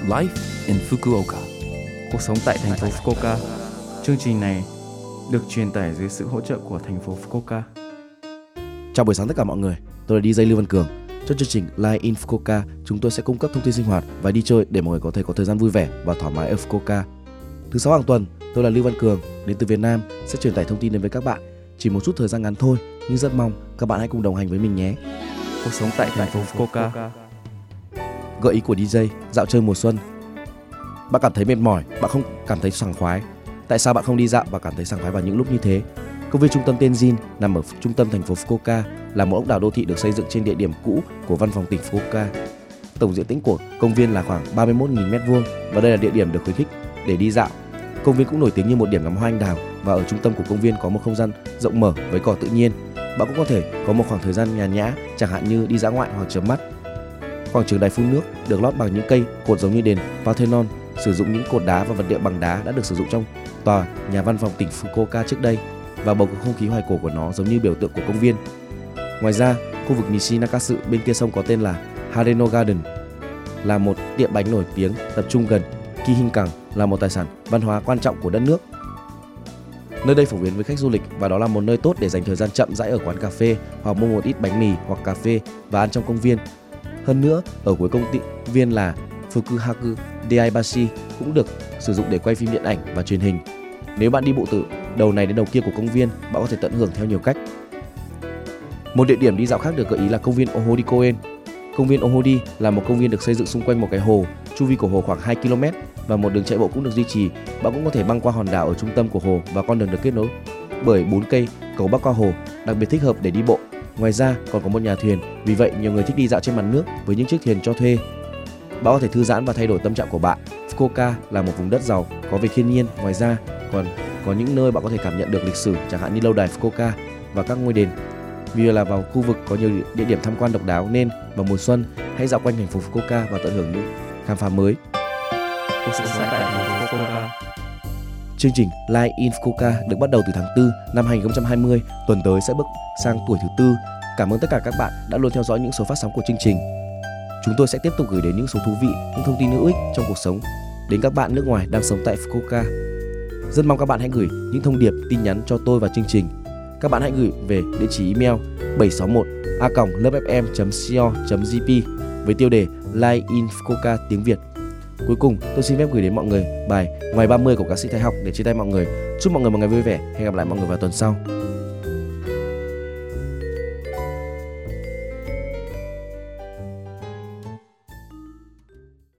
Life in Fukuoka. Cuộc sống tại thành phố Fukuoka. Chương trình này được truyền tải dưới sự hỗ trợ của thành phố Fukuoka. Chào buổi sáng tất cả mọi người, tôi là DJ Lưu Văn Cường. Trong chương trình Live in Fukuoka, chúng tôi sẽ cung cấp thông tin sinh hoạt và đi chơi để mọi người có thể có thời gian vui vẻ và thoải mái ở Fukuoka. Thứ 6 hàng tuần, tôi là Lưu Văn Cường, đến từ Việt Nam, sẽ truyền tải thông tin đến với các bạn. Chỉ một chút thời gian ngắn thôi, nhưng rất mong các bạn hãy cùng đồng hành với mình nhé. Cuộc sống tại thành phố Fukuoka. Gợi ý của DJ, dạo chơi mùa xuân. Bạn cảm thấy mệt mỏi, bạn không cảm thấy sảng khoái. Tại sao bạn không đi dạo và cảm thấy sảng khoái vào những lúc như thế? Công viên trung tâm Tenjin nằm ở trung tâm thành phố Fukuoka, là một ốc đảo đô thị được xây dựng trên địa điểm cũ của văn phòng tỉnh Fukuoka. Tổng diện tích của công viên là khoảng 31.000 m² và đây là địa điểm được khuyến khích để đi dạo. Công viên cũng nổi tiếng như một điểm ngắm hoa anh đào và ở trung tâm của công viên có một không gian rộng mở với cỏ tự nhiên. Bạn cũng có thể có một khoảng thời gian nhàn nhã, chẳng hạn như đi dã ngoại hoặc chớm mắt. Quảng trường đài phun nước được lót bằng những cây cột giống như đền Parthenon, sử dụng những cột đá và vật liệu bằng đá đã được sử dụng trong tòa nhà văn phòng tỉnh Fukuoka trước đây, và bầu không khí hoài cổ của nó giống như biểu tượng của công viên. Ngoài ra, khu vực Nishi Nakasu bên kia sông có tên là Hareno Garden, là một tiệm bánh nổi tiếng tập trung gần Kihinkan, là một tài sản văn hóa quan trọng của đất nước. Nơi đây phổ biến với khách du lịch và đó là một nơi tốt để dành thời gian chậm rãi ở quán cà phê hoặc mua một ít bánh mì hoặc cà phê và ăn trong công viên. Hơn nữa, ở cuối công viên là Fukuhaku Daibashi cũng được sử dụng để quay phim điện ảnh và truyền hình. Nếu bạn đi bộ từ đầu này đến đầu kia của công viên, bạn có thể tận hưởng theo nhiều cách. Một địa điểm đi dạo khác được gợi ý là công viên Ohori Koen. Công viên Ohori là một công viên được xây dựng xung quanh một cái hồ, chu vi của hồ khoảng 2 km và một đường chạy bộ cũng được duy trì. Bạn cũng có thể băng qua hòn đảo ở trung tâm của hồ và con đường được kết nối bởi 4 cây cầu bắc qua hồ, đặc biệt thích hợp để đi bộ. Ngoài ra còn có một nhà thuyền, vì vậy nhiều người thích đi dạo trên mặt nước với những chiếc thuyền cho thuê. Bạn có thể thư giãn và thay đổi tâm trạng của bạn. Fukuoka là một vùng đất giàu có về thiên nhiên, ngoài ra còn có những nơi bạn có thể cảm nhận được lịch sử, chẳng hạn như lâu đài Fukuoka và các ngôi đền. Vì là vào khu vực có nhiều địa điểm tham quan độc đáo nên vào mùa xuân hãy dạo quanh thành phố Fukuoka và tận hưởng những khám phá mới. Cuộc sống tại thành phố Fukuoka. Chương trình Live in Fukuoka được bắt đầu từ tháng 4 năm 2020, tuần tới sẽ bước sang tuổi thứ 4. Cảm ơn tất cả các bạn đã luôn theo dõi những số phát sóng của chương trình. Chúng tôi sẽ tiếp tục gửi đến những số thú vị, những thông tin hữu ích trong cuộc sống đến các bạn nước ngoài đang sống tại Fukuoka. Rất mong các bạn hãy gửi những thông điệp, tin nhắn cho tôi và chương trình. Các bạn hãy gửi về địa chỉ email 761a@lovefm.co.jp với tiêu đề Live in Fukuoka tiếng Việt. Cuối cùng, tôi xin phép gửi đến mọi người bài Ngoài 30 của ca sĩ Thái Học để chia tay mọi người. Chúc mọi người một ngày vui vẻ. Hẹn gặp lại mọi người vào tuần sau.